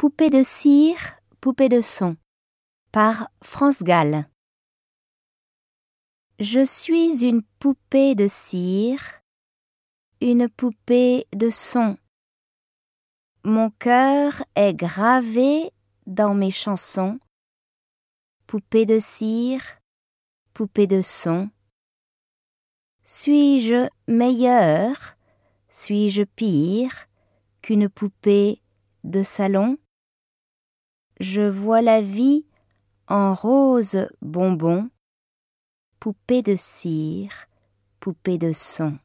Poupée de cire, poupée de son, par France Gall. Je suis une poupée de cire, une poupée de son. Mon cœur est gravé dans mes chansons. Poupée de cire, poupée de son. Suis-je meilleure, suis-je pire qu'une poupée de salon? Je vois la vie en rose bonbon, poupée de cire, poupée de son.